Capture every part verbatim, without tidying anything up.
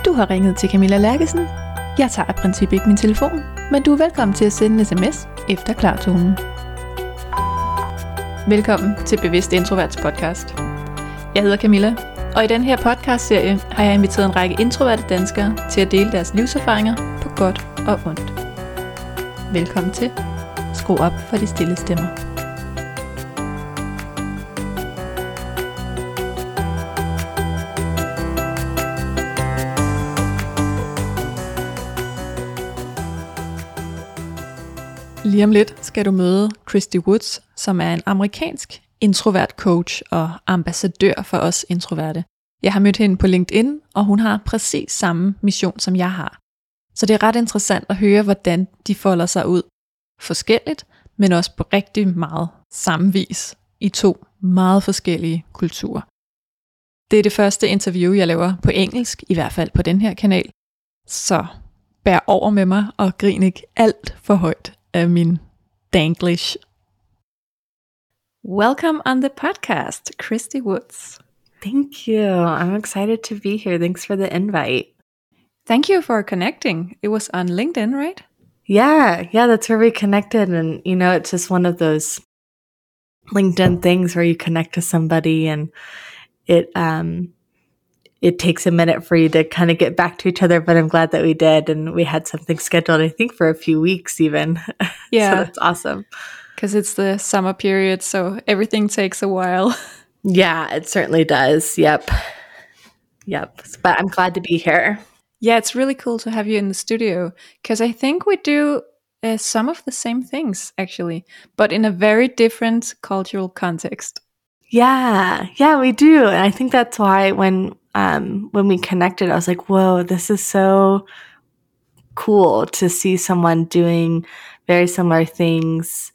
Du har ringet til Camilla Lærkesen. Jeg tager i princippet ikke min telefon, men du er velkommen til at sende en sms efter klartonen. Velkommen til Bevidst Introverts podcast. Jeg hedder Camilla, og i den her podcastserie har jeg inviteret en række introverte danskere til at dele deres livserfaringer på godt og ondt. Velkommen til. Skru op for de stille stemmer. Lige om lidt skal du møde Christy Woods, som er en amerikansk introvert coach og ambassadør for os introverte. Jeg har mødt hende på LinkedIn, og hun har præcis samme mission, som jeg har. Så det er ret interessant at høre, hvordan de folder sig ud. Forskelligt, men også på rigtig meget samme vis i to meget forskellige kulturer. Det er det første interview, jeg laver på engelsk, i hvert fald på den her kanal. Så bær over med mig og grin ikke alt for højt af min danglish. Welcome on the podcast, Christy Woods. Thank you. I'm excited to be here. Thanks for the invite. Thank you for connecting. It was on LinkedIn, right? Yeah, yeah, that's where we connected. And, you know, it's just one of those LinkedIn things where you connect to somebody and it um, it takes a minute for you to kind of get back to each other, but I'm glad that we did. And we had something scheduled, I think, for a few weeks even. Yeah. So that's awesome. Because it's the summer period, so everything takes a while. Yeah, it certainly does. Yep. Yep. But I'm glad to be here. Yeah, it's really cool to have you in the studio, because I think we do uh, some of the same things, actually, but in a very different cultural context. Yeah, yeah, we do. And I think that's why when um, when we connected, I was like, whoa, this is so cool to see someone doing very similar things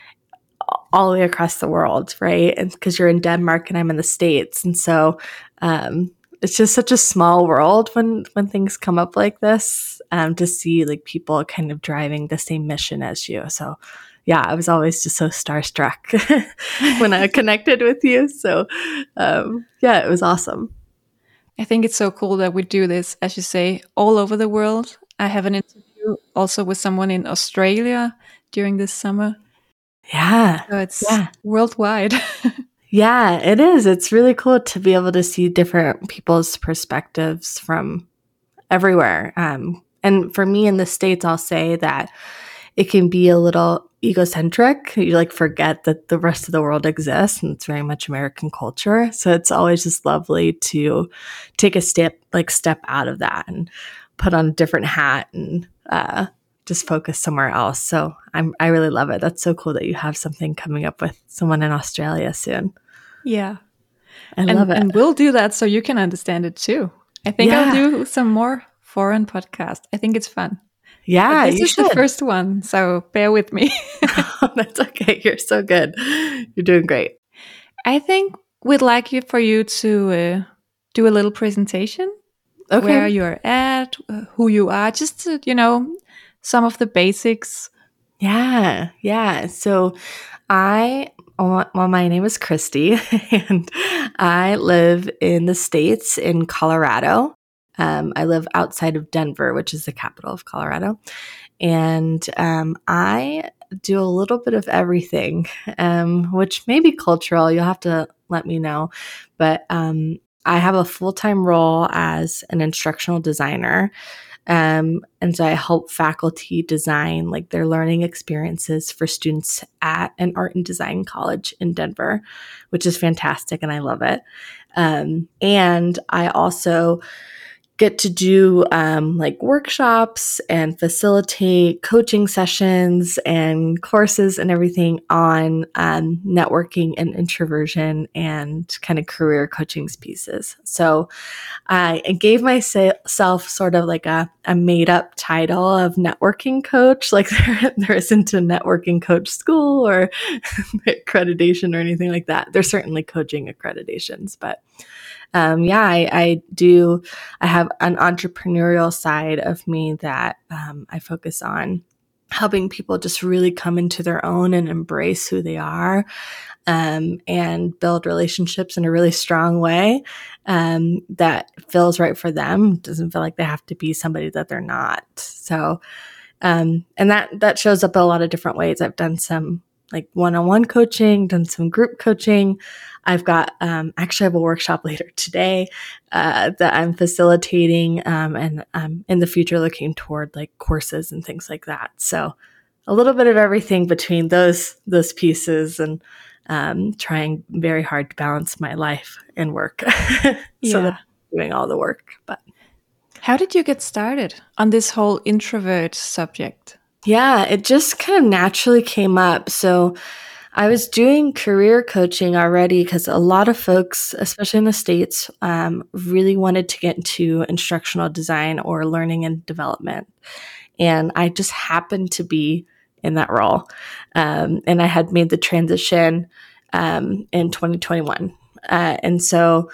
all the way across the world, right? And because you're in Denmark and I'm in the States. And so um, it's just such a small world when, when things come up like this, um, to see like people kind of driving the same mission as you. So yeah, I was always just so starstruck when I connected with you. So um, yeah, it was awesome. I think it's so cool that we do this, as you say, all over the world. I have an interview also with someone in Australia during this summer. Yeah. So it's yeah. worldwide. Yeah, it is. It's really cool to be able to see different people's perspectives from everywhere. Um, and for me in the States, I'll say that it can be a little egocentric. You like forget that the rest of the world exists, and it's very much American culture. So it's always just lovely to take a step, like step out of that and put on a different hat and uh, just focus somewhere else. So I'm, I really love it. That's so cool that you have something coming up with someone in Australia soon. Yeah. I and, love it. And we'll do that so you can understand it too. I think Yeah. I'll do some more foreign podcasts. I think it's fun. Yeah, but this you is should. the first one, so bear with me. That's okay. You're so good. You're doing great. I think we'd like you for you to uh, do a little presentation. Okay. Where you're at, uh, who you are, just to, you know, some of the basics. Yeah, yeah. So I, well, my name is Christy, and I live in the States in Colorado. Um, I live outside of Denver, which is the capital of Colorado. And um, I do a little bit of everything, um, which may be cultural. You'll have to let me know. But um, I have a full-time role as an instructional designer. Um, and so I help faculty design like their learning experiences for students at an art and design college in Denver, which is fantastic. And I love it. Um, and I also get to do um, like workshops and facilitate coaching sessions and courses and everything on um, networking and introversion and kind of career coaching pieces. So I gave myself sort of like a, a made up title of networking coach. Like there, there isn't a networking coach school or accreditation or anything like that. There's certainly coaching accreditations, but Um, yeah, I, I do. I have an entrepreneurial side of me that um, I focus on helping people just really come into their own and embrace who they are, um, and build relationships in a really strong way um, that feels right for them. Doesn't feel like they have to be somebody that they're not. So, um, and that that shows up in a lot of different ways. I've done some like one-on-one coaching, done some group coaching. I've got, um, actually I have a workshop later today, uh, that I'm facilitating, um, and I'm in the future looking toward like courses and things like that. So a little bit of everything between those, those pieces, and, um, trying very hard to balance my life and work so Yeah. that I'm doing all the work. But how did you get started on this whole introvert subject? yeah, it just kind of naturally came up. So I was doing career coaching already because a lot of folks, especially in the States, um, really wanted to get into instructional design or learning and development. And I just happened to be in that role. Um, and I had made the transition um, in twenty twenty-one. Uh, and so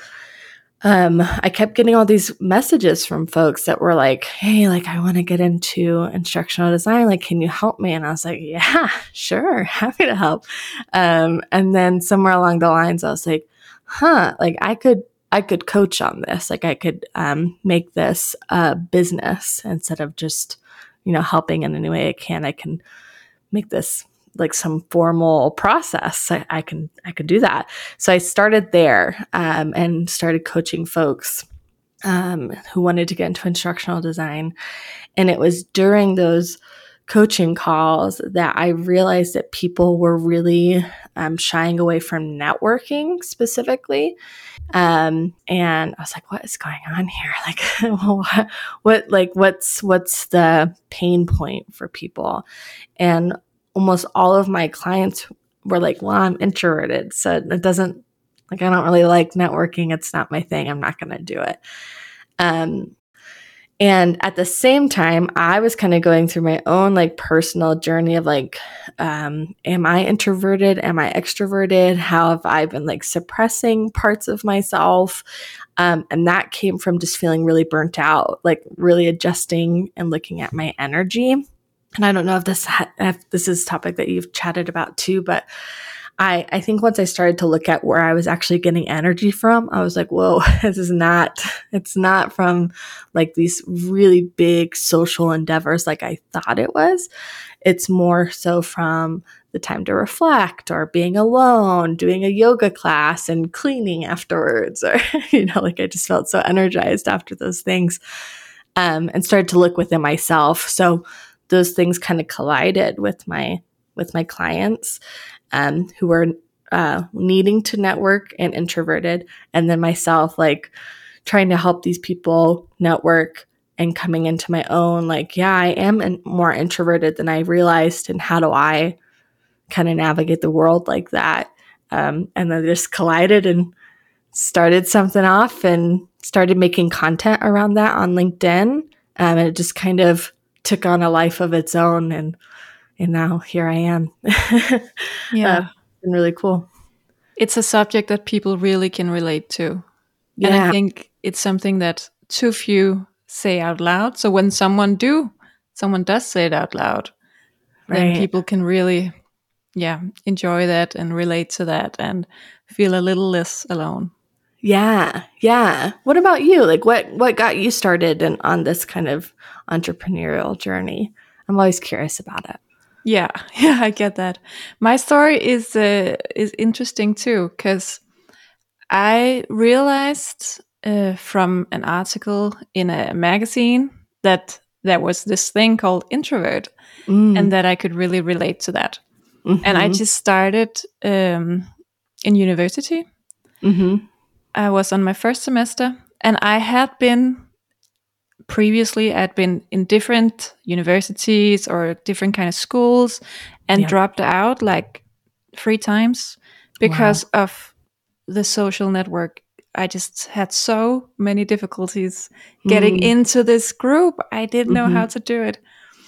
um, I kept getting all these messages from folks that were like, hey, like, I want to get into instructional design. Like, can you help me? And I was like, yeah, sure. Happy to help. Um, and then somewhere along the lines, I was like, huh, like I could, I could coach on this. Like I could, um, make this a business instead of just, you know, helping in any way I can. I can make this like some formal process. I, I can, I could do that. So I started there, um, and started coaching folks, um, who wanted to get into instructional design. And it was during those coaching calls that I realized that people were really, um, shying away from networking specifically. Um, and I was like, what is going on here? Like, what, what, like, what's, what's the pain point for people? And almost all of my clients were like, well, I'm introverted. So it doesn't, like, I don't really like networking. It's not my thing. I'm not going to do it. Um, and at the same time, I was kind of going through my own like personal journey of like, um, am I introverted? Am I extroverted? How have I been like suppressing parts of myself? Um, and that came from just feeling really burnt out, like really adjusting and looking at my energy. And I don't know if this ha- if this is a topic that you've chatted about too, but I, I think once I started to look at where I was actually getting energy from, I was like, whoa, this is not, it's not from like these really big social endeavors like I thought it was. It's more so from the time to reflect or being alone, doing a yoga class and cleaning afterwards, or, you know, like I just felt so energized after those things, um, and started to look within myself. So those things kind of collided with my, with my clients, um, who were, uh, needing to network and introverted. And then myself, like trying to help these people network and coming into my own, like, yeah, I am in, more introverted than I realized. And how do I kind of navigate the world like that? Um, and then just collided and started something off and started making content around that on LinkedIn. Um, and it just kind of took on a life of its own. And, and now here I am. Yeah. Uh, it's been really cool. It's a subject that people really can relate to. Yeah. And I think it's something that too few say out loud. So when someone do, someone does say it out loud, then Right. people can really, yeah, enjoy that and relate to that and feel a little less alone. Yeah. Yeah. What about you? Like what, what got you started in, on this kind of entrepreneurial journey? I'm always curious about it. Yeah. Yeah, I get that. My story is, uh, is interesting too, because I realized uh, from an article in a magazine that there was this thing called introvert, Mm. and that I could really relate to that. Mm-hmm. And I just started um, in university. Mm-hmm. I was on my first semester, and I had been previously, I'd been in different universities or different kind of schools and Yeah. dropped out like three times because Wow. of the social network. I just had so many difficulties getting Mm. into this group. I didn't know Mm-hmm. how to do it.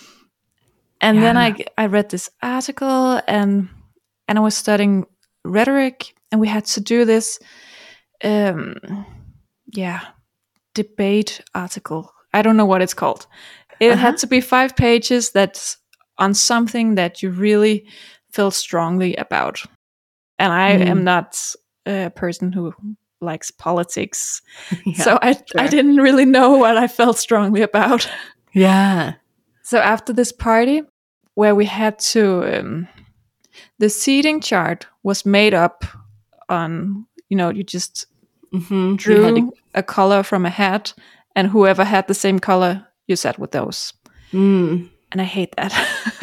And Yeah. then I, I read this article, and and I was studying rhetoric, and we had to do this, um, yeah, debate article. I don't know what it's called. It Uh-huh. had to be five pages that's on something that you really felt strongly about. And I Mm. am not a person who likes politics. Yeah, so I, sure. I didn't really know what I felt strongly about. Yeah. So after this party, where we had to, um, the seating chart was made up on, you know, you just Mm-hmm. drew You had to- a color from a hat, and whoever had the same color, you sat with those. Mm. And I hate that.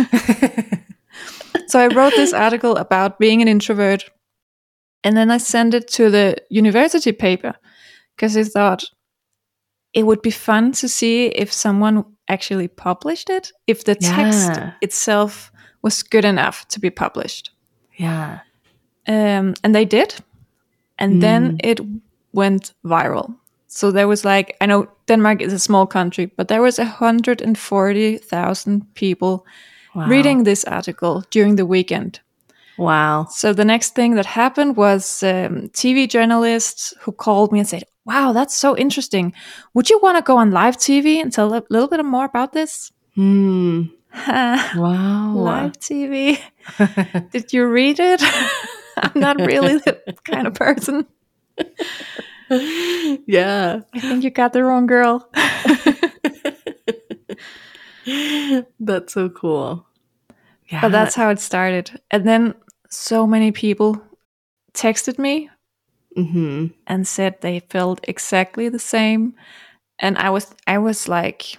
So I wrote this article about being an introvert, and then I sent it to the university paper because I thought it would be fun to see if someone actually published it, if the text Yeah. itself was good enough to be published. Yeah. Um, and they did. And Mm. then it went viral. So there was like, I know Denmark is a small country, but there was one hundred forty thousand people Wow. reading this article during the weekend. Wow. So the next thing that happened was um, T V journalists who called me and said, wow, that's so interesting. Would you want to go on live T V and tell a little bit more about this? Mm. Wow. Live T V. Did you read it? I'm not really the kind of person. Yeah. I think you got the wrong girl. That's so cool. Yeah. But that's how it started. And then so many people texted me Mm-hmm. and said they felt exactly the same. And I was I was like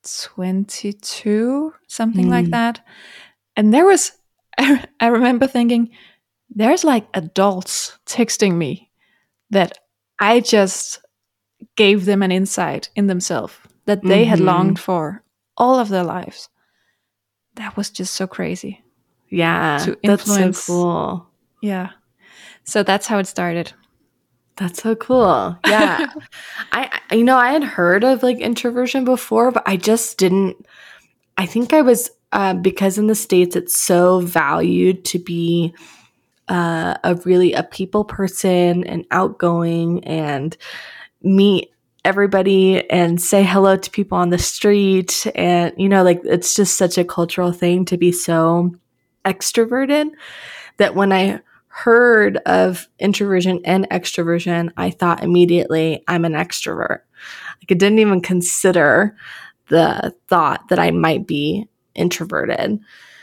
twenty-two, something Mm. like that. And there was I, I remember thinking, there's like adults texting me that I just gave them an insight in themselves that they had Mhm. longed for all of their lives. That was just so crazy. Yeah. To That's so influence- cool. Yeah. So that's how it started. That's so cool. Yeah. I, I- you know, I had heard of like introversion before, but I just didn't, I think I was, uh, because in the States it's so valued to be uh, a really a people person and outgoing and meet everybody and say hello to people on the street. And, you know, like it's just such a cultural thing to be so extroverted that when I heard of introversion and extroversion, I thought immediately I'm an extrovert. Like I didn't even consider the thought that I might be introverted.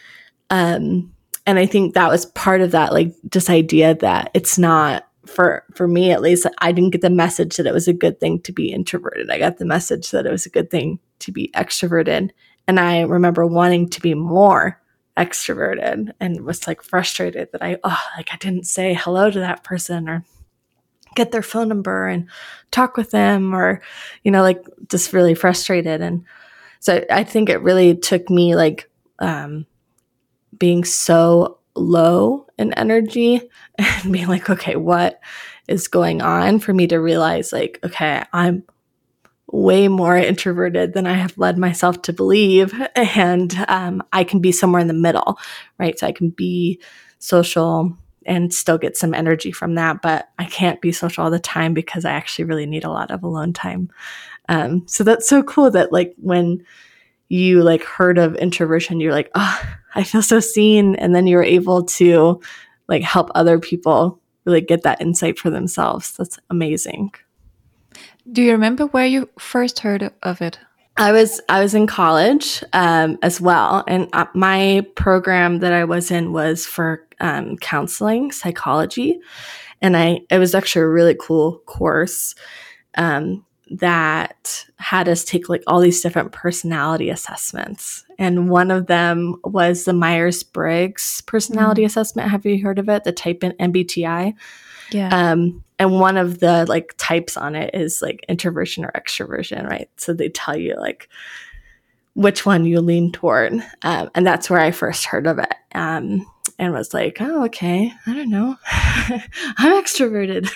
Um, and I think that was part of that, like this idea that it's not for, for me, at least, I didn't get the message that it was a good thing to be introverted. I got the message that it was a good thing to be extroverted. And I remember wanting to be more extroverted and was like frustrated that I, oh, like I didn't say hello to that person or get their phone number and talk with them or, you know, like just really frustrated. And so I think it really took me like, um, being so low in energy and being like, okay, what is going on for me to realize like, okay, I'm way more introverted than I have led myself to believe. And um, I can be somewhere in the middle, right? So I can be social and still get some energy from that, but I can't be social all the time because I actually really need a lot of alone time. Um, so that's so cool that like when you like heard of introversion, you're like, oh, I feel so seen. And then you're able to like help other people really get that insight for themselves. That's amazing. Do you remember where you first heard of it? I was I was in college um, as well, and uh, my program that I was in was for um, counseling psychology, and I it was actually a really cool course um, that had us take like all these different personality assessments, and one of them was the Myers-Briggs personality mm. assessment. Have you heard of it? The type in M B T I. Yeah. Um, and one of the like types on it is like introversion or extroversion, right? So they tell you like which one you lean toward. Um, and that's where I first heard of it. Um, and was like, oh, okay, I don't know. I'm extroverted.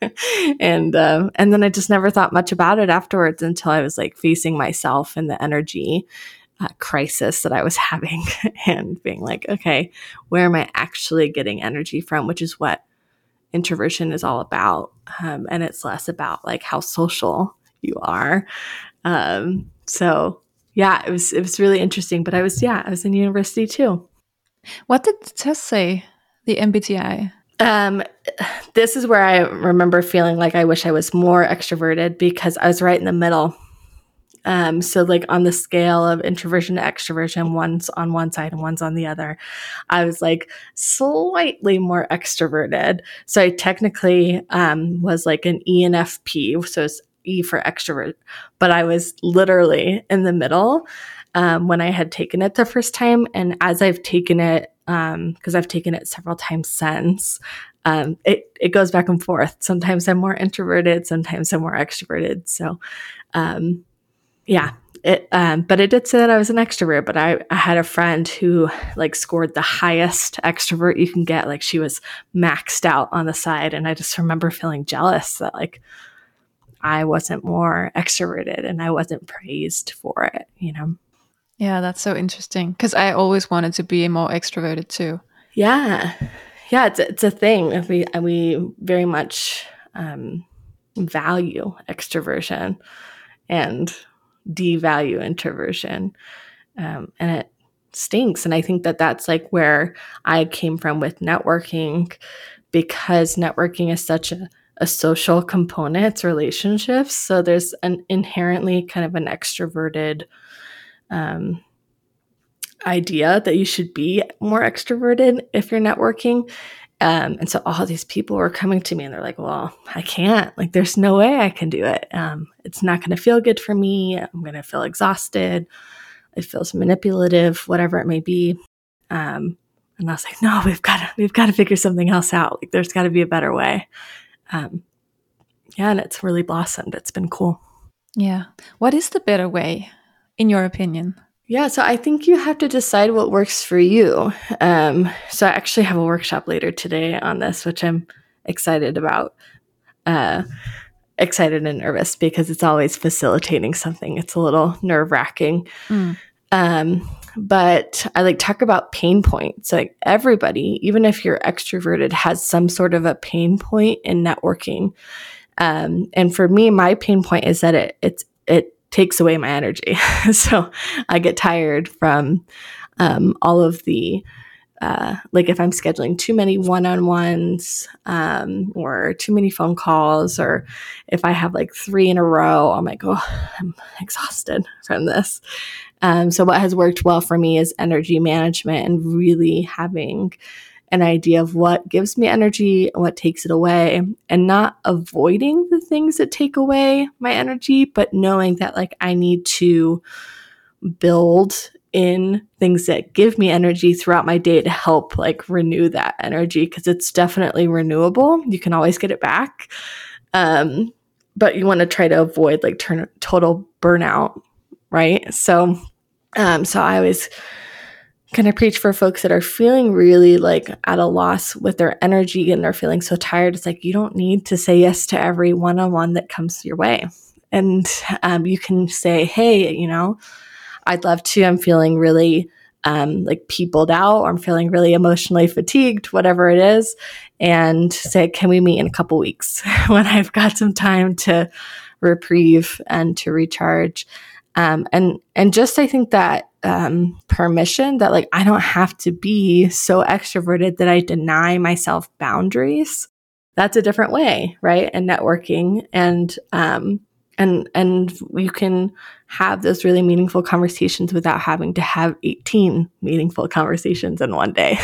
and, um, and then I just never thought much about it afterwards until I was like facing myself and the energy uh, crisis that I was having and being like, okay, where am I actually getting energy from? Which is what introversion is all about. Um, and it's less about like how social you are. Um, so yeah, it was it was really interesting. But I was yeah, I was in university too. What did the test say? The M B T I. Um, this is where I remember feeling like I wish I was more extroverted because I was right in the middle. Um, so like on the scale of introversion to extroversion, one's on one side and one's on the other. I was like slightly more extroverted. So I technically um, was like an E N F P. So it's E for extrovert, but I was literally in the middle um, when I had taken it the first time. And as I've taken it, um, because I've taken it several times since, um, it, it goes back and forth. Sometimes I'm more introverted, sometimes I'm more extroverted. So, um, yeah, it, um, but it did say that I was an extrovert, but I, I had a friend who like scored the highest extrovert you can get. Like she was maxed out on the side. And I just remember feeling jealous that like I wasn't more extroverted and I wasn't praised for it, you know? Yeah, that's so interesting because I always wanted to be more extroverted too. Yeah. Yeah, it's a, it's a thing. We, we very much um, value extroversion and devalue introversion. Um, and it stinks. And I think that that's like where I came from with networking, because networking is such a, a social component, it's relationships. So there's an inherently kind of an extroverted um, idea that you should be more extroverted if you're networking. Um, and so all these people were coming to me and they're like, well, I can't, like, there's no way I can do it. Um, it's not going to feel good for me. I'm going to feel exhausted. It feels manipulative, whatever it may be. Um, and I was like, no, we've got to, we've got to figure something else out. Like, there's got to be a better way. Um, yeah. And it's really blossomed. It's been cool. Yeah. What is the better way, in your opinion? Yeah, so I think you have to decide what works for you. Um, so I actually have a workshop later today on this, which I'm excited about. Uh, excited and nervous because it's always facilitating something. It's a little nerve-wracking. Mm. Um, but I like talk about pain points. Like everybody, even if you're extroverted, has some sort of a pain point in networking. Um, and for me, my pain point is that it it's it takes away my energy. So I get tired from um, all of the, uh, like if I'm scheduling too many one-on-ones um, or too many phone calls, or if I have like three in a row, I'm like, oh, I'm exhausted from this. Um, so what has worked well for me is energy management and really having an idea of what gives me energy and what takes it away, and not avoiding the things that take away my energy, but knowing that like I need to build in things that give me energy throughout my day to help like renew that energy, because it's definitely renewable. You can always get it back. Um, but you want to try to avoid like turn total burnout, right? So, um, so I always kind of preach for folks that are feeling really like at a loss with their energy and they're feeling so tired. It's like, you don't need to say yes to every one-on-one that comes your way. And um, you can say, hey, you know, I'd love to, I'm feeling really um, like peopled out, or I'm feeling really emotionally fatigued, whatever it is. And say, can we meet in a couple weeks when I've got some time to reprieve and to recharge? Um, and, and just, I think that um, permission that like, I don't have to be so extroverted that I deny myself boundaries. That's a different way, right? And networking, and, um, and, and you can have those really meaningful conversations without having to have eighteen meaningful conversations in one day.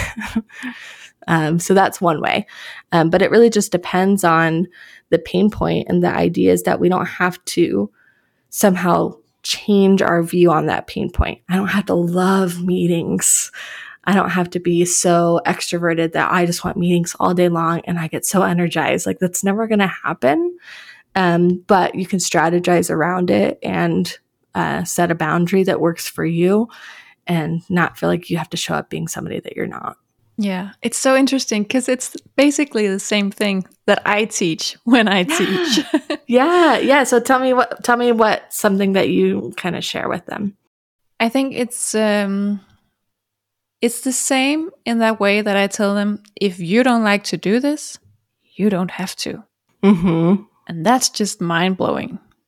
um, so that's one way. Um, but it really just depends on the pain point, and the idea is that we don't have to somehow change our view on that pain point. I don't have to love meetings. I don't have to be so extroverted that I just want meetings all day long and I get so energized. Like, that's never going to happen. Um, but you can strategize around it and uh, set a boundary that works for you, and not feel like you have to show up being somebody that you're not. Yeah, it's so interesting because it's basically the same thing that I teach when I teach. yeah, yeah. So tell me what, tell me what something that you kind of share with them. I think it's um, it's the same in that way that I tell them, if you don't like to do this, you don't have to. Mm-hmm. And that's just mind blowing.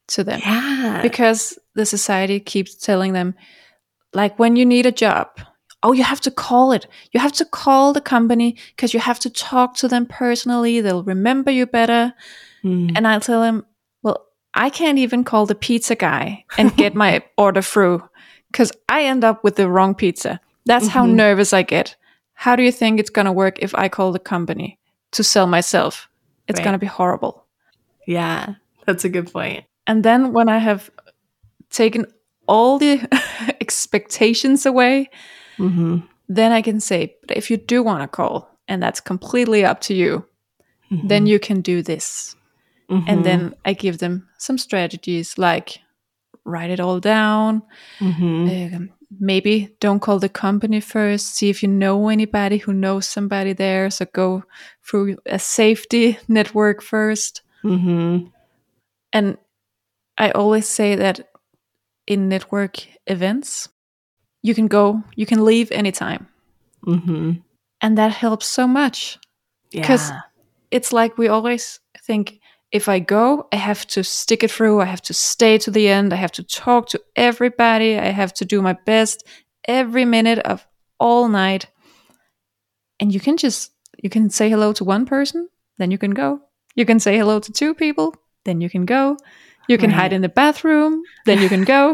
to them. Yeah. Because the society keeps telling them, like when you need a job, oh, you have to call it. You have to call the company because you have to talk to them personally. They'll remember you better. Mm. And I'll tell them, well, I can't even call the pizza guy and get my order through because I end up with the wrong pizza. That's mm-hmm. how nervous I get. How do you think it's going to work if I call the company to sell myself? It's right. going to be horrible. Yeah, that's a good point. And then when I have taken all the expectations away, mm-hmm. then I can say, but if you do want to call, and that's completely up to you, mm-hmm. then you can do this. Mm-hmm. And then I give them some strategies like write it all down. Mm-hmm. Uh, maybe don't call the company first. See if you know anybody who knows somebody there. So go through a safety network first. Mm-hmm. And I always say that in network events, you can go, you can leave anytime. Mm-hmm. And that helps so much. Because yeah. it's like we always think, if I go, I have to stick it through. I have to stay to the end. I have to talk to everybody. I have to do my best every minute of all night. And you can just, you can say hello to one person, then you can go. You can say hello to two people, then you can go. You can right. hide in the bathroom, then you can go.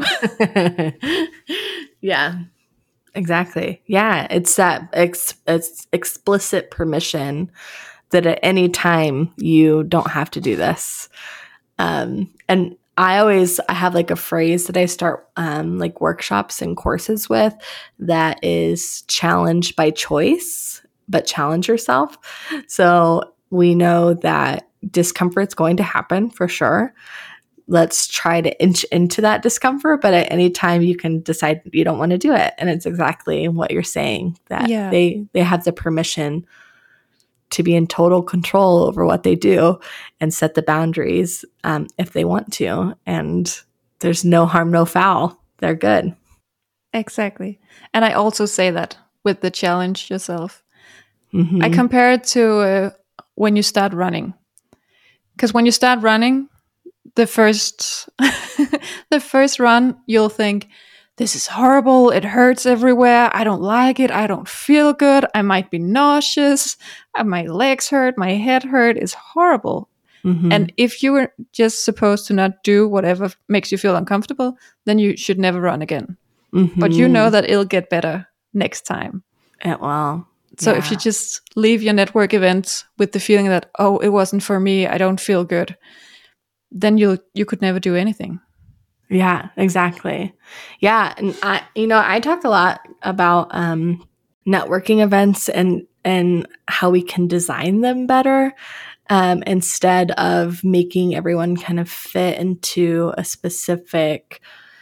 Yeah, exactly. Yeah, it's that ex- it's explicit permission that at any time you don't have to do this. Um, and I always, I have like a phrase that I start um, like workshops and courses with that is challenge by choice, but challenge yourself. So we know that discomfort's going to happen for sure. Let's try to inch into that discomfort, but at any time you can decide you don't want to do it. And it's exactly what you're saying, that yeah. they, they have the permission to be in total control over what they do and set the boundaries um, if they want to. And there's no harm, no foul. They're good. Exactly. And I also say that with the challenge yourself. Mm-hmm. I compare it to uh, when you start running. Because when you start running, the first the first run, you'll think, this is horrible. It hurts everywhere. I don't like it. I don't feel good. I might be nauseous. My legs hurt. My head hurt. It's horrible. Mm-hmm. And if you were just supposed to not do whatever makes you feel uncomfortable, then you should never run again. Mm-hmm. But you know that it'll get better next time. It will. So yeah. if you just leave your network event with the feeling that, oh, it wasn't for me, I don't feel good, then you you could never do anything. Yeah, exactly. Yeah. And I, you know, I talk a lot about um, networking events and, and how we can design them better um, instead of making everyone kind of fit into a specific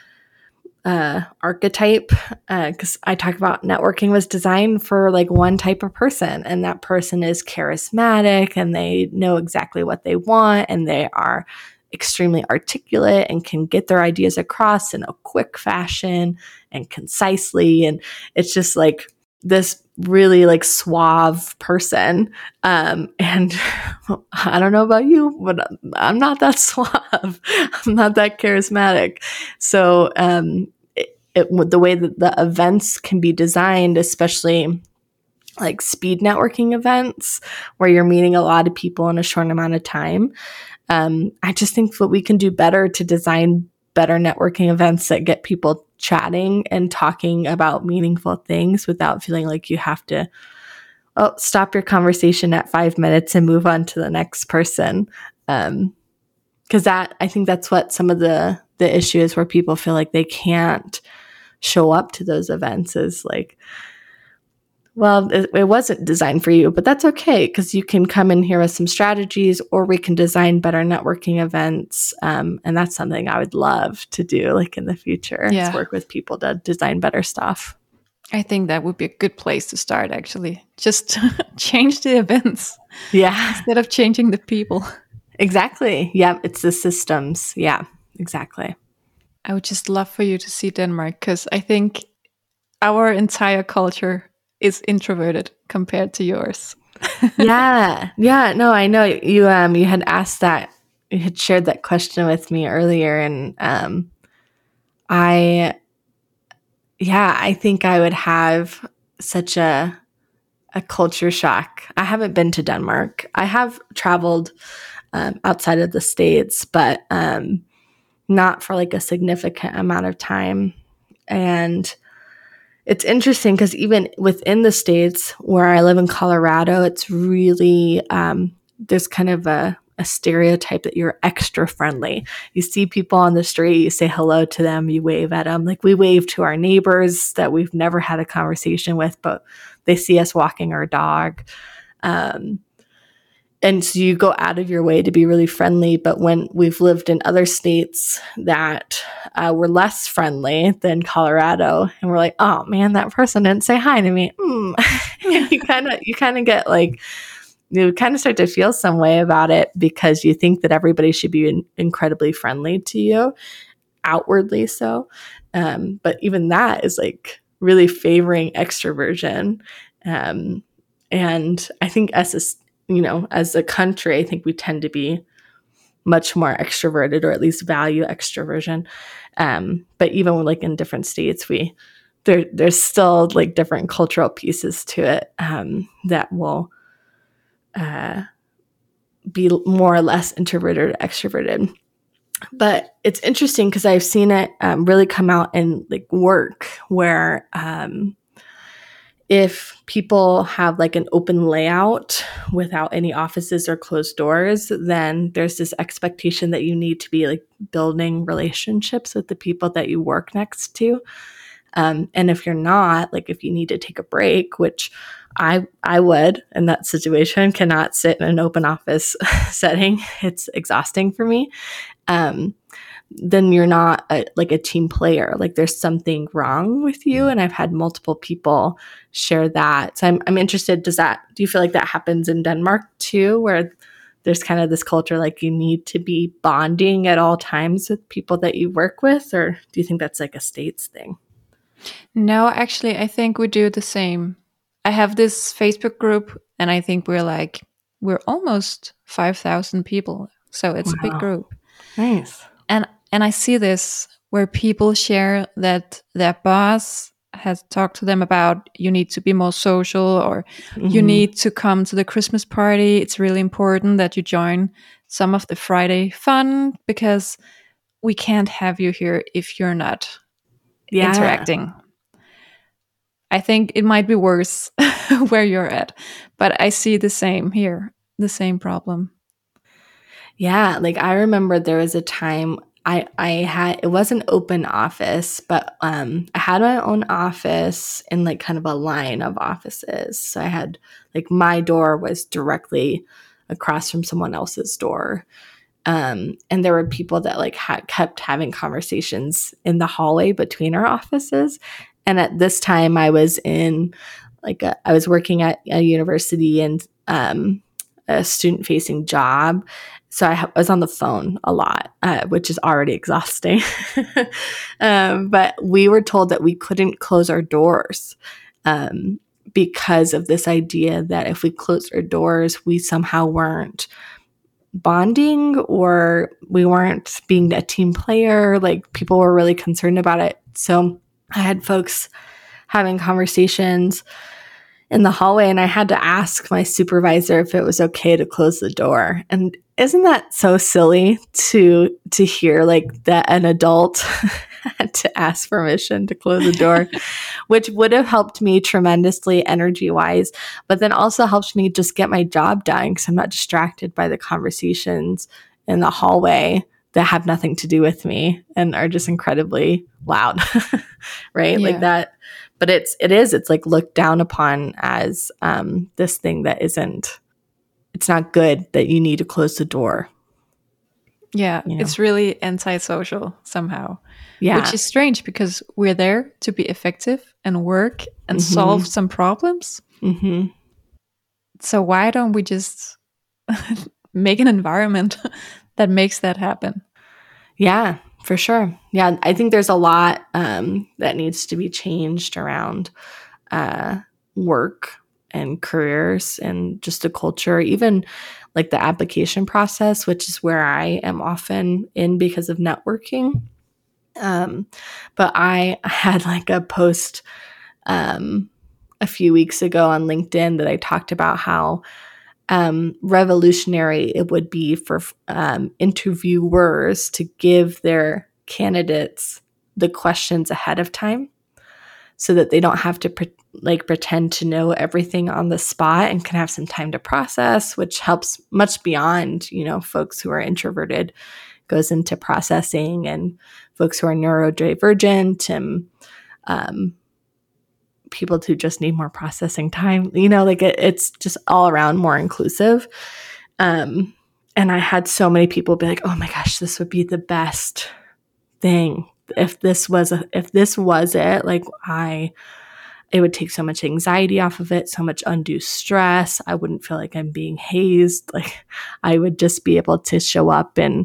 uh, archetype. Because uh, I talk about networking was designed for like one type of person, and that person is charismatic and they know exactly what they want and they are extremely articulate and can get their ideas across in a quick fashion and concisely. And it's just like this really like suave person. Um, and I don't know about you, but I'm not that suave. I'm not that charismatic. So um, it, it, the way that the events can be designed, especially like speed networking events where you're meeting a lot of people in a short amount of time, Um, I just think that we can do better to design better networking events that get people chatting and talking about meaningful things without feeling like you have to oh, stop your conversation at five minutes and move on to the next person. Um, because that, I think that's what some of the, the issue is, where people feel like they can't show up to those events, is like, well, it, it wasn't designed for you, but that's okay, because you can come in here with some strategies, or we can design better networking events. Um, and that's something I would love to do, like in the future, yeah. is work with people to design better stuff. I think that would be a good place to start, actually. Just change the events. Yeah. Instead of changing the people. Exactly. Yeah. It's the systems. Yeah, exactly. I would just love for you to see Denmark, because I think our entire culture is introverted compared to yours. yeah. Yeah. No, I know you, um, you had asked that had shared that question with me earlier, and um, I, yeah, I think I would have such a a culture shock. I haven't been to Denmark. I have traveled um, outside of the States, but um, not for like a significant amount of time. And it's interesting because even within the States where I live in Colorado, it's really, um, there's kind of a, a stereotype that you're extra friendly. You see people on the street, you say hello to them, you wave at them. Like we wave to our neighbors that we've never had a conversation with, but they see us walking our dog. Um, and so you go out of your way to be really friendly. But when we've lived in other states that uh, were less friendly than Colorado, and we're like, oh man, that person didn't say hi to me. Mm. you kind of you kind of get like, you kind of start to feel some way about it because you think that everybody should be in- incredibly friendly to you, outwardly so. Um, but even that is like really favoring extroversion. Um, and I think as a, you know, as a country, I think we tend to be much more extroverted, or at least value extroversion. Um, but even like in different states, we there there's still like different cultural pieces to it um, that will uh, be more or less introverted or extroverted. But it's interesting because I've seen it um, really come out in like work where um, if people have like an open layout without any offices or closed doors, then there's this expectation that you need to be like building relationships with the people that you work next to. Um, and if you're not, like if you need to take a break, which I I would in that situation, cannot sit in an open office setting. It's exhausting for me. Um, then you're not a, like a team player. Like there's something wrong with you. And I've had multiple people share that. So I'm I'm interested. Does that do you feel like that happens in Denmark too, where there's kind of this culture like you need to be bonding at all times with people that you work with, or do you think that's like a States thing? No, actually, I think we do the same. I have this Facebook group, and I think we're like, we're almost five thousand people. So it's Wow. a big group. Nice. And and I see this where people share that their boss has talked to them about you need to be more social, or mm-hmm. you need to come to the Christmas party. It's really important that you join some of the Friday fun because we can't have you here if you're not yeah. interacting. I think it might be worse where you're at, but I see the same here, the same problem. Yeah, like I remember there was a time I I had, it was an open office, but um I had my own office in like kind of a line of offices. So I had like my door was directly across from someone else's door. Um, and there were people that like ha- kept having conversations in the hallway between our offices. And at this time I was in like a, I was working at a university and um, a student facing job. So I, ha- I was on the phone a lot, uh, which is already exhausting. um, but we were told that we couldn't close our doors um, because of this idea that if we closed our doors, we somehow weren't bonding or we weren't being a team player. Like people were really concerned about it. So I had folks having conversations in the hallway and I had to ask my supervisor if it was okay to close the door. And isn't that so silly to to hear like that an adult had to ask permission to close the door, which would have helped me tremendously energy wise, but then also helps me just get my job done because I'm not distracted by the conversations in the hallway that have nothing to do with me and are just incredibly loud, right? Yeah. Like that. But it's, it is, it's like looked down upon as um, this thing that isn't, it's not good that you need to close the door. Yeah, you know? It's really antisocial somehow. Yeah. Which is strange because we're there to be effective and work and mm-hmm. solve some problems. Mm-hmm. So why don't we just make an environment that makes that happen? Yeah, for sure. Yeah, I think there's a lot um, that needs to be changed around uh, work and careers and just a culture, even like the application process, which is where I am often in because of networking. Um, but I had like a post um, a few weeks ago on LinkedIn that I talked about how um, revolutionary it would be for um, interviewers to give their candidates the questions ahead of time so that they don't have to pre- like pretend to know everything on the spot and can have some time to process, which helps much beyond, you know, folks who are introverted, goes into processing, and folks who are neurodivergent and um, people who just need more processing time, you know, like it, it's just all around more inclusive. Um, and I had so many people be like, oh my gosh, this would be the best thing. If this was, a, if this was it, like I, it would take so much anxiety off of it, so much undue stress. I wouldn't feel like I'm being hazed. Like I would just be able to show up and,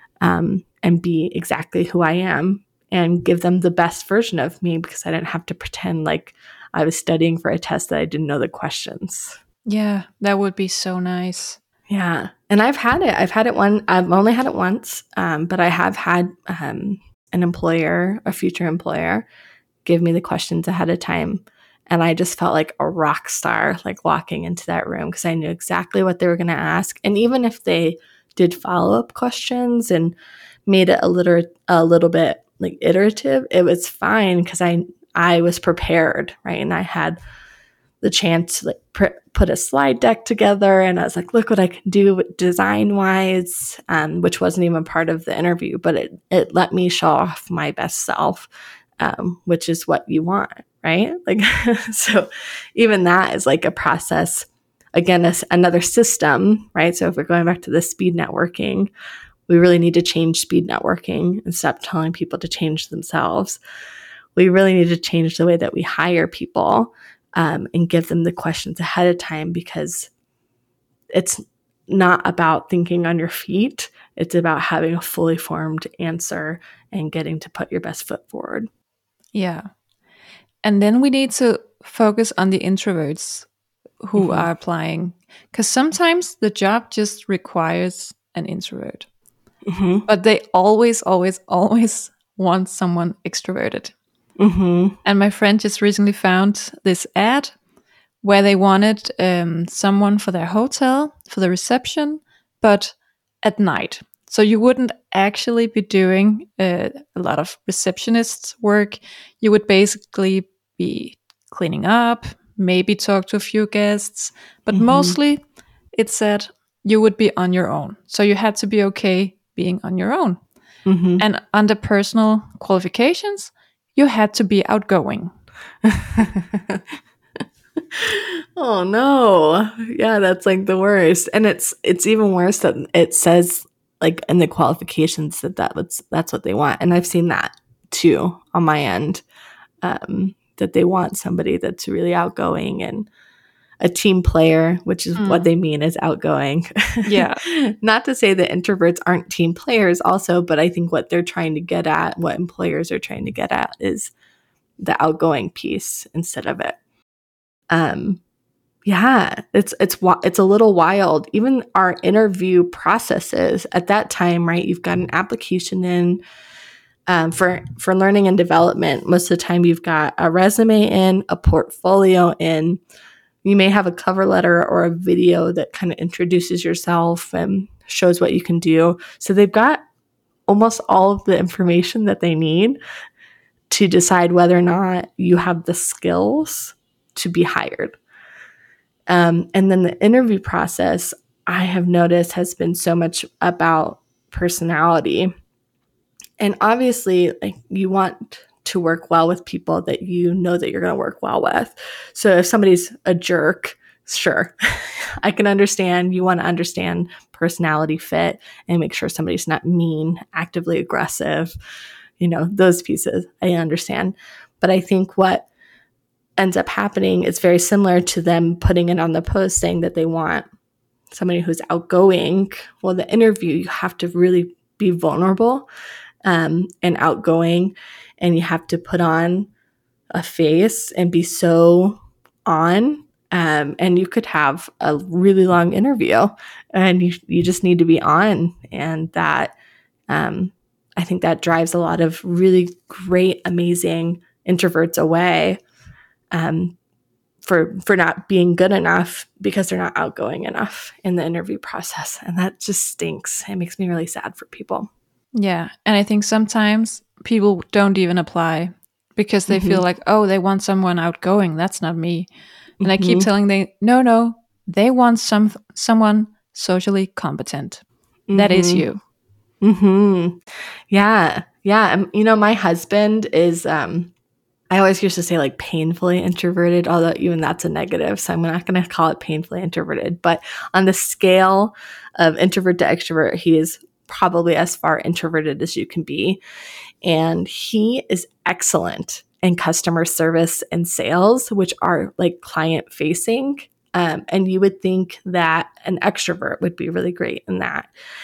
um, and be exactly who I am and give them the best version of me because I didn't have to pretend like I was studying for a test that I didn't know the questions. Yeah, that would be so nice. Yeah. And I've had it. I've had it one, I've only had it once, um, but I have had um, an employer, a future employer, give me the questions ahead of time. And I just felt like a rock star, like walking into that room because I knew exactly what they were going to ask. And even if they did follow-up questions and made it a little, a little bit like iterative, it was fine because I, I was prepared, right? And I had the chance to like pr- put a slide deck together, and I was like, look what I can do design wise, um, which wasn't even part of the interview, but it, it let me show off my best self, um, which is what you want, right? Like, so even that is like a process. Again, a, another system, right? So if we're going back to the speed networking, we really need to change speed networking and stop telling people to change themselves. We really need to change the way that we hire people. Um, and give them the questions ahead of time because it's not about thinking on your feet. It's about having a fully formed answer and getting to put your best foot forward. Yeah. And then we need to focus on the introverts who mm-hmm. are applying, because sometimes the job just requires an introvert. Mm-hmm. But they always, always, always want someone extroverted. Mm-hmm. And my friend just recently found this ad where they wanted um, someone for their hotel, for the reception, but at night. So you wouldn't actually be doing uh, a lot of receptionist work. You would basically be cleaning up, maybe talk to a few guests, but mm-hmm. mostly it said you would be on your own. So you had to be okay being on your own. Mm-hmm. And under personal qualifications, you had to be outgoing. Oh no. Yeah, that's like the worst. And it's it's even worse that it says like in the qualifications that, that that's, that's what they want. And I've seen that too on my end, um, that they want somebody that's really outgoing and a team player, which is mm. what they mean is outgoing. Yeah. Not to say that introverts aren't team players also, but I think what they're trying to get at, what employers are trying to get at is the outgoing piece instead of it. Um, yeah, it's, it's, it's a little wild. Even our interview processes at that time, right? You've got an application in, um, for, for learning and development. Most of the time you've got a resume in, a portfolio in, you may have a cover letter or a video that kind of introduces yourself and shows what you can do. So they've got almost all of the information that they need to decide whether or not you have the skills to be hired. Um, and then the interview process, I have noticed, has been so much about personality. And obviously, like, you want to work well with people that you know that you're going to work well with. So if somebody's a jerk, sure, I can understand. You want to understand personality fit and make sure somebody's not mean, actively aggressive, you know, those pieces I understand. But I think what ends up happening is very similar to them putting it on the post saying that they want somebody who's outgoing. Well, the interview, you have to really be vulnerable um, and outgoing, and you have to put on a face and be so on Um, and you could have a really long interview and you, you just need to be on. And that, um, I think that drives a lot of really great, amazing introverts away, um, for, for not being good enough because they're not outgoing enough in the interview process. And that just stinks. It makes me really sad for people. Yeah. And I think sometimes people don't even apply because they mm-hmm. feel like, oh, they want someone outgoing. That's not me. And mm-hmm. I keep telling them, no, no, they want some someone socially competent. Mm-hmm. That is you. Mm-hmm. Yeah. Yeah. Um, you know, my husband is, um, I always used to say like painfully introverted, although even that's a negative. So I'm not going to call it painfully introverted. But on the scale of introvert to extrovert, he is probably as far introverted as you can be. And he is excellent in customer service and sales, which are like client facing. Um, and you would think that an extrovert would be really great in that.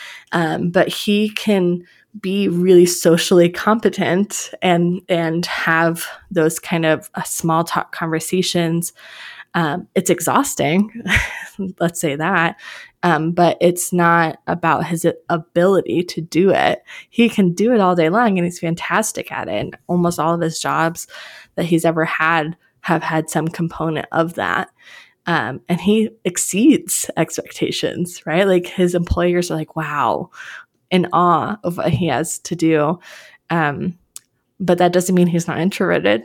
Um, but he can be really socially competent and and have those kind of uh, small talk conversations. Um, it's exhausting, let's say that, um, but it's not about his ability to do it. He can do it all day long, and he's fantastic at it. And almost all of his jobs that he's ever had have had some component of that. Um, and he exceeds expectations, right? Like his employers are like, wow, in awe of what he has to do. Um, but that doesn't mean he's not introverted,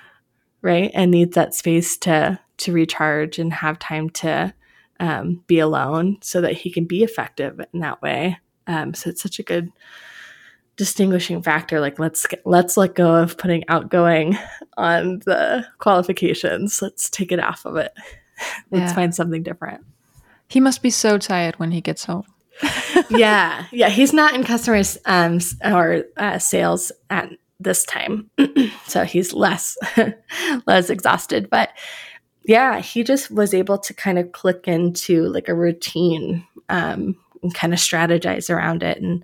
right? And needs that space to to recharge and have time to um, be alone so that he can be effective in that way. Um, so it's such a good distinguishing factor. Like let's let's let go of putting outgoing on the qualifications. Let's take it off of it. Let's yeah. find something different. He must be so tired when he gets home. yeah. Yeah. He's not in customer um, or uh, sales at this time. So he's less, less exhausted. But yeah, he just was able to kind of click into like a routine um, and kind of strategize around it, and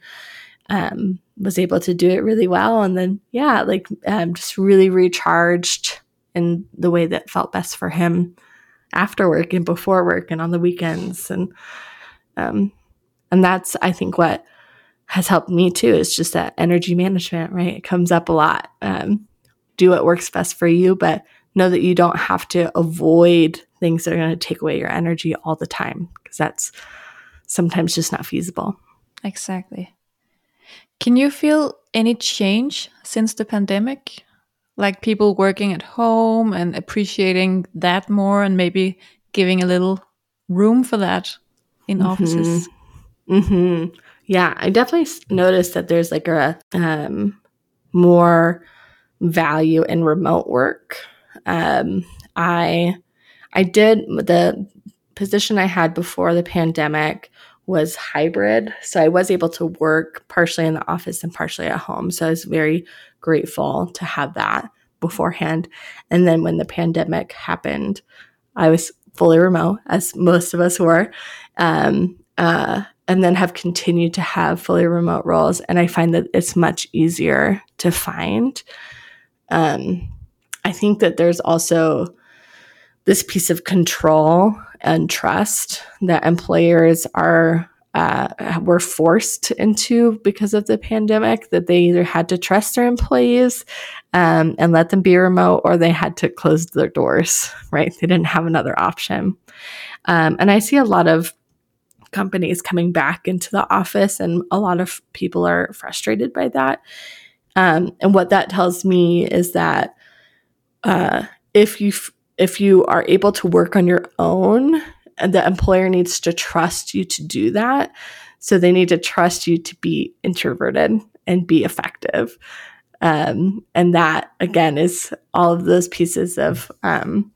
um, was able to do it really well. And then, yeah, like um, just really recharged in the way that felt best for him after work and before work and on the weekends. And, um, and that's, I think, what has helped me too, is just that energy management, right? It comes up a lot. Um, do what works best for you, but know that you don't have to avoid things that are going to take away your energy all the time, because that's sometimes just not feasible. Exactly. Can you feel any change since the pandemic? Like people working at home and appreciating that more, and maybe giving a little room for that in mm-hmm. offices? Mm-hmm. Yeah, I definitely noticed that there's like a um, more value in remote work. Um, I I did the position I had before the pandemic was hybrid, so I was able to work partially in the office and partially at home. So I was very grateful to have that beforehand. And then when the pandemic happened, I was fully remote, as most of us were, um, uh, and then have continued to have fully remote roles. And I find that it's much easier to find. Um, I think that there's also this piece of control and trust that employers are uh, were forced into because of the pandemic, that they either had to trust their employees um, and let them be remote, or they had to close their doors, right? They didn't have another option. Um, and I see a lot of companies coming back into the office, and a lot of people are frustrated by that. Um, and what that tells me is that uh, if you f- if you are able to work on your own, and the employer needs to trust you to do that. So they need to trust you to be introverted and be effective. Um, and that, again, is all of those pieces of um,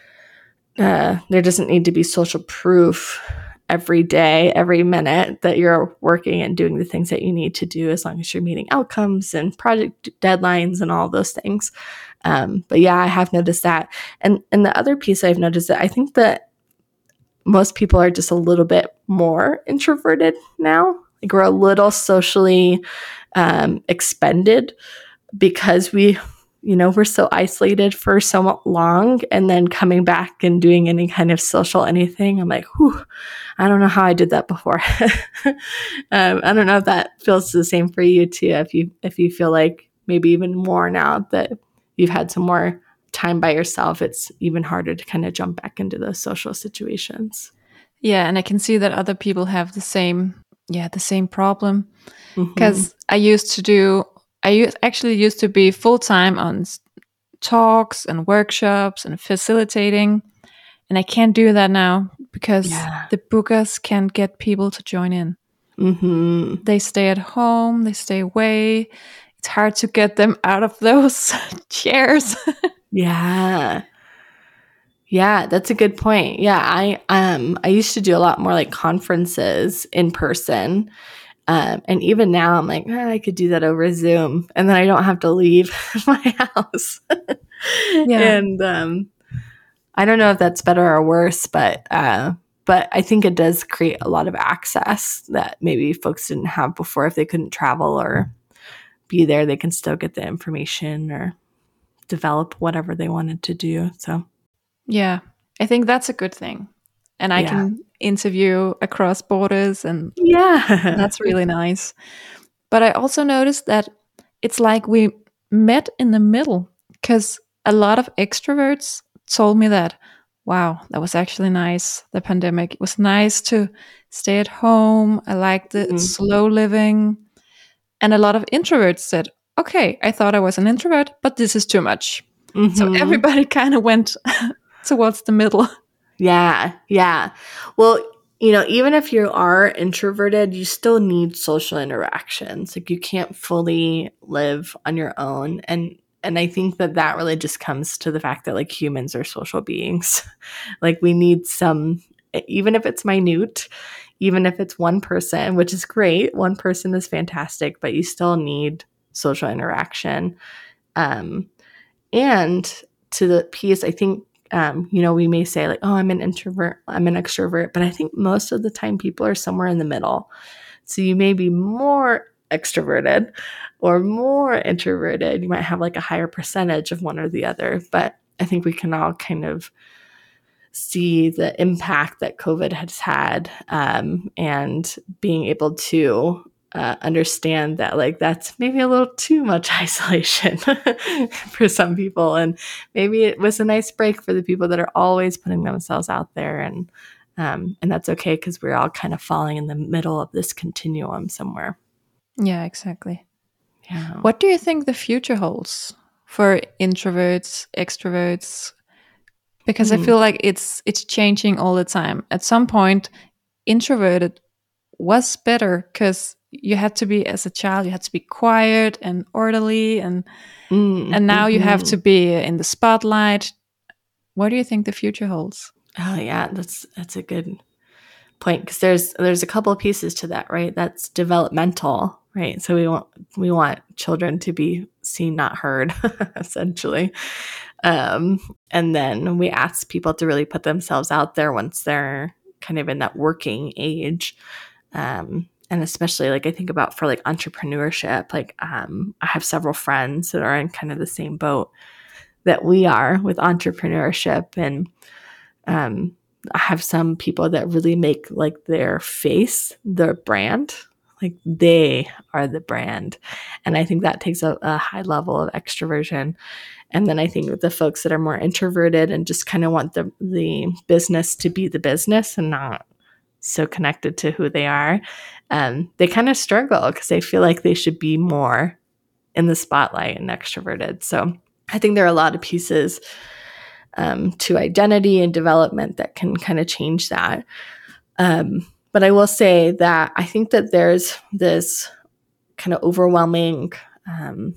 uh, there doesn't need to be social proof every day, every minute that you're working and doing the things that you need to do, as long as you're meeting outcomes and project deadlines and all those things. Um, but yeah, I have noticed that. And and the other piece I've noticed that I think that most people are just a little bit more introverted now. Like we're a little socially um, expended because we you know, we're so isolated for so long, and then coming back and doing any kind of social anything, I'm like, whew, I don't know how I did that before. um, I don't know if that feels the same for you too. If you if you feel like maybe even more now that you've had some more time by yourself, it's even harder to kind of jump back into those social situations. Yeah, and I can see that other people have the same, yeah, the same problem. Mm-hmm. Because I used to do, I u- actually used to be full time on s- talks and workshops and facilitating, and I can't do that now because Yeah. the bookers can't get people to join in. Mm-hmm. They stay at home, they stay away. It's hard to get them out of those chairs. Yeah. Yeah, that's a good point. Yeah, I um I used to do a lot more like conferences in person. Um, and even now I'm like, oh, I could do that over Zoom, and then I don't have to leave my house. Yeah. And um I don't know if that's better or worse, but uh but I think it does create a lot of access that maybe folks didn't have before. If they couldn't travel or be there, they can still get the information or develop whatever they wanted to do. So Yeah, I think that's a good thing. And I yeah. can interview across borders, and Yeah. that's really nice. But I also noticed that it's like we met in the middle, because a lot of extroverts told me that, wow, that was actually nice, the pandemic. It was nice to stay at home. I liked the Mhm. slow living. And a lot of introverts said, okay, I thought I was an introvert, but this is too much. So Mhm. everybody kind of went towards the middle. Yeah, yeah. Well, you know, even if you are introverted, you still need social interactions. Like you can't fully live on your own, and and I think that that really just comes to the fact that like humans are social beings. Like we need some, even if it's minute, even if it's one person, which is great. One person is fantastic, but you still need social interaction. Um, and to the piece, I think, um, you know, we may say like, oh, I'm an introvert, I'm an extrovert, but I think most of the time people are somewhere in the middle. So you may be more extroverted or more introverted. You might have like a higher percentage of one or the other, but I think we can all kind of see the impact that COVID has had, um, and being able to uh, understand that like that's maybe a little too much isolation for some people, and maybe it was a nice break for the people that are always putting themselves out there, and um, and that's okay because we're all kind of falling in the middle of this continuum somewhere. Yeah, exactly. Yeah. What do you think the future holds for introverts, extroverts? Because I Hmm. feel like it's it's changing all the time. At some point, introverted was better because you had to be, as a child, you had to be quiet and orderly, and Mm, and now you have mm-hmm. to be in the spotlight. What do you think the future holds? Oh yeah, that's that's a good point, because there's there's a couple of pieces to that, right? That's developmental, right? So we want we want children to be seen, not heard, essentially. Um, and then we ask people to really put themselves out there once they're kind of in that working age. Um, and especially like I think about for like entrepreneurship, like um, I have several friends that are in kind of the same boat that we are with entrepreneurship, and um, I have some people that really make like their face their brand. Like they are the brand. And I think that takes a, a high level of extroversion. And then I think with the folks that are more introverted and just kind of want the, the business to be the business and not so connected to who they are, um, they kind of struggle because they feel like they should be more in the spotlight and extroverted. So I think there are a lot of pieces Um, to identity and development that can kind of change that. Um, but I will say that I think that there's this kind of overwhelming um,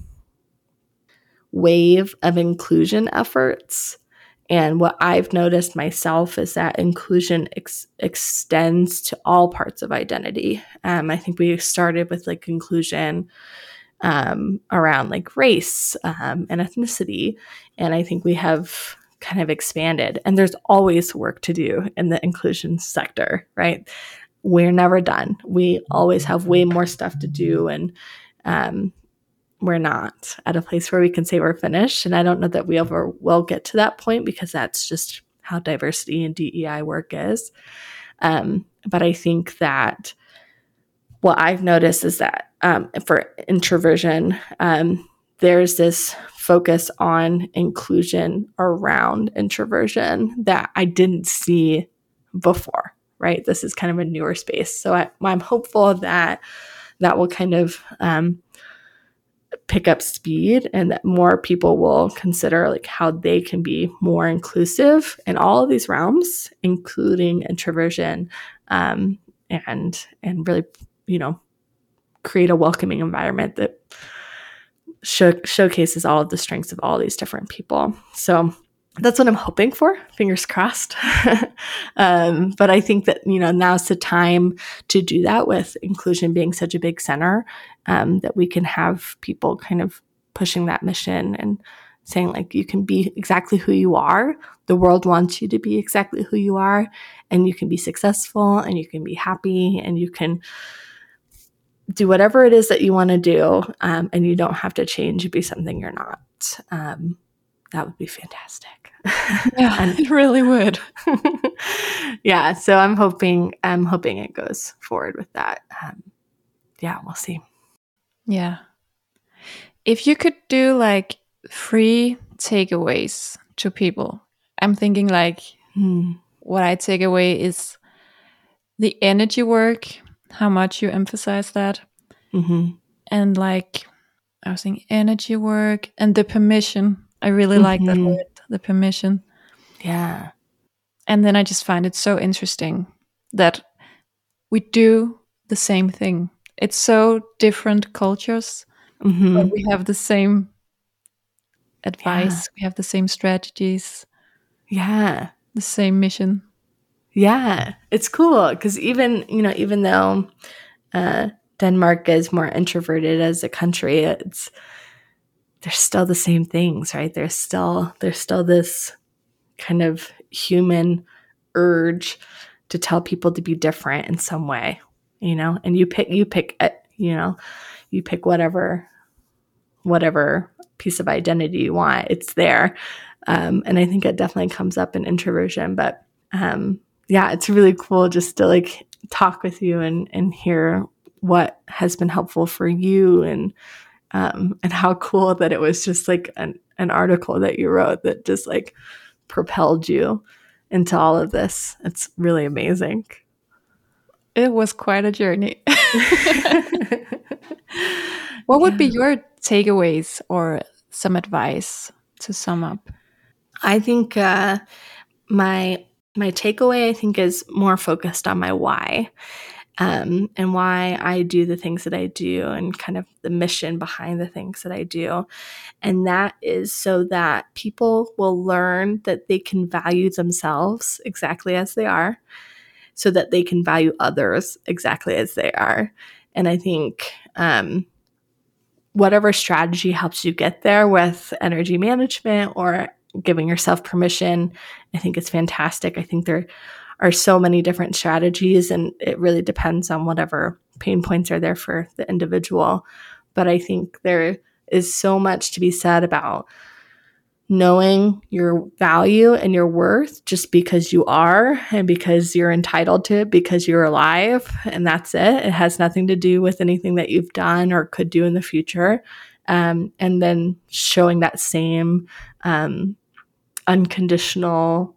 wave of inclusion efforts. And what I've noticed myself is that inclusion ex- extends to all parts of identity. Um, I think we started with like inclusion um, around like race um, and ethnicity. And I think we have kind of expanded, and there's always work to do in the inclusion sector, right? We're never done. We always have way more stuff to do. And um, we're not at a place where we can say we're finished. And I don't know that we ever will get to that point, because that's just how diversity and D E I work is. Um, but I think that what I've noticed is that um, for introversion, um, there's this focus on inclusion around introversion that I didn't see before, right? This is kind of a newer space. So I, I'm hopeful that that will kind of um, pick up speed, and that more people will consider like how they can be more inclusive in all of these realms, including introversion, um, and and really, you know, create a welcoming environment that show, showcases all of the strengths of all these different people. So that's what I'm hoping for. Fingers crossed. um, but I think that, you know, now's the time to do that, with inclusion being such a big center, um, that we can have people kind of pushing that mission and saying, like, you can be exactly who you are. The world wants you to be exactly who you are, and you can be successful, and you can be happy, and you can do whatever it is that you want to do, um, and you don't have to change and be something you're not. Um, that would be fantastic. Yeah, and, it really would. yeah, so I'm hoping I'm hoping it goes forward with that. Um, yeah, we'll see. Yeah. If you could do like three takeaways to people, I'm thinking like hmm. what I take away is the energy work, how much you emphasize that. Mm-hmm. And like, I was thinking energy work and the permission. I really mm-hmm. like that word, the permission. Yeah. And then I just find it so interesting that we do the same thing. It's so different cultures, mm-hmm. but we have the same advice. Yeah. We have the same strategies. Yeah. The same mission. Yeah. It's cool because even, you know, even though uh, Denmark is more introverted as a country, it's there's still the same things, right? There's still there's still this kind of human urge to tell people to be different in some way, you know, and you pick, you pick, you know, you pick whatever, whatever piece of identity you want, it's there. Um, and I think it definitely comes up in introversion, but um, yeah, it's really cool just to like talk with you and, and hear what has been helpful for you, and um, and how cool that it was just like an, an article that you wrote that just like propelled you into all of this. It's really amazing. It was quite a journey. What would yeah. be your takeaways or some advice to sum up? I think uh, my my takeaway, I think, is more focused on my why. Um, and why I do the things that I do, and kind of the mission behind the things that I do. And that is so that people will learn that they can value themselves exactly as they are, so that they can value others exactly as they are. And I think um, whatever strategy helps you get there with energy management or giving yourself permission, I think it's fantastic. I think there are so many different strategies, and it really depends on whatever pain points are there for the individual. But I think there is so much to be said about knowing your value and your worth just because you are, and because you're entitled to it, because you're alive, and that's it. It has nothing to do with anything that you've done or could do in the future. Um, and then showing that same um, unconditional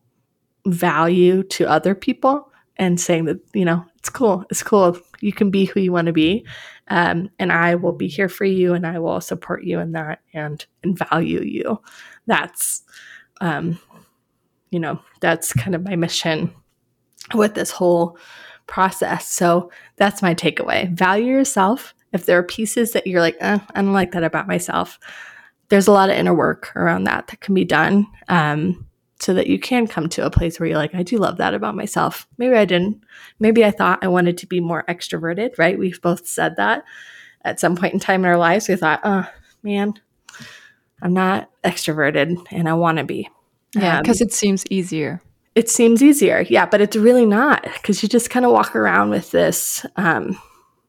value to other people, and saying that, you know, it's cool. It's cool. You can be who you want to be. Um, and I will be here for you, and I will support you in that, and, and value you. That's, um, you know, that's kind of my mission with this whole process. So that's my takeaway. Value yourself. If there are pieces that you're like, eh, I don't like that about myself, there's a lot of inner work around that that can be done. Um, so that you can come to a place where you're like, I do love that about myself. Maybe I didn't. Maybe I thought I wanted to be more extroverted, right? We've both said that at some point in time in our lives. We thought, oh, man, I'm not extroverted and I want to be. Yeah, because um, it seems easier. It seems easier. Yeah, but it's really not, because you just kind of walk around with this um,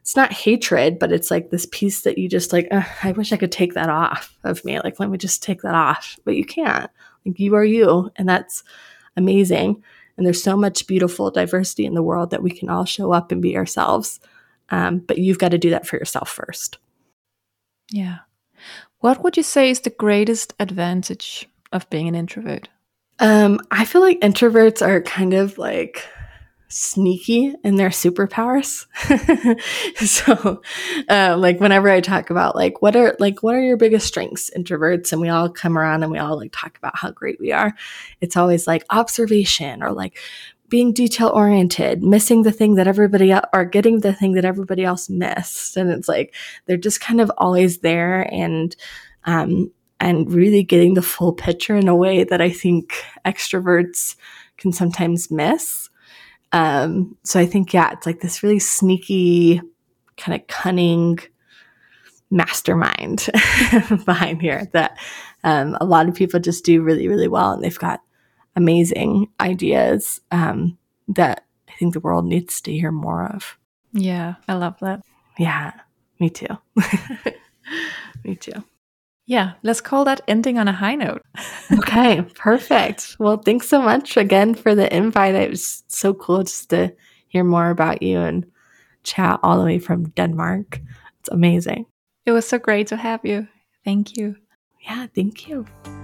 it's not hatred, but it's like this piece that you just like, I wish I could take that off of me. Like, let me just take that off. But you can't. Like, you are you. And that's amazing. And there's so much beautiful diversity in the world that we can all show up and be ourselves. Um, but you've got to do that for yourself first. Yeah. What would you say is the greatest advantage of being an introvert? Um, I feel like introverts are kind of like sneaky in their superpowers. so, uh, like whenever I talk about like what are like what are your biggest strengths, introverts, and we all come around and we all like talk about how great we are. It's always like observation or like being detail oriented, missing the thing that everybody else, or getting the thing that everybody else missed. And it's like they're just kind of always there and um and really getting the full picture in a way that I think extroverts can sometimes miss. Um, so I think, yeah, it's like this really sneaky, kind of cunning mastermind behind here that um, a lot of people just do really, really well. And they've got amazing ideas um, that I think the world needs to hear more of. Yeah, I love that. Yeah, me too. Me too. Yeah, let's call that ending on a high note. Okay, perfect. Well, thanks so much again for the invite. It was so cool just to hear more about you and chat all the way from Denmark. It's amazing. It was so great to have you. Thank you. Yeah, thank you.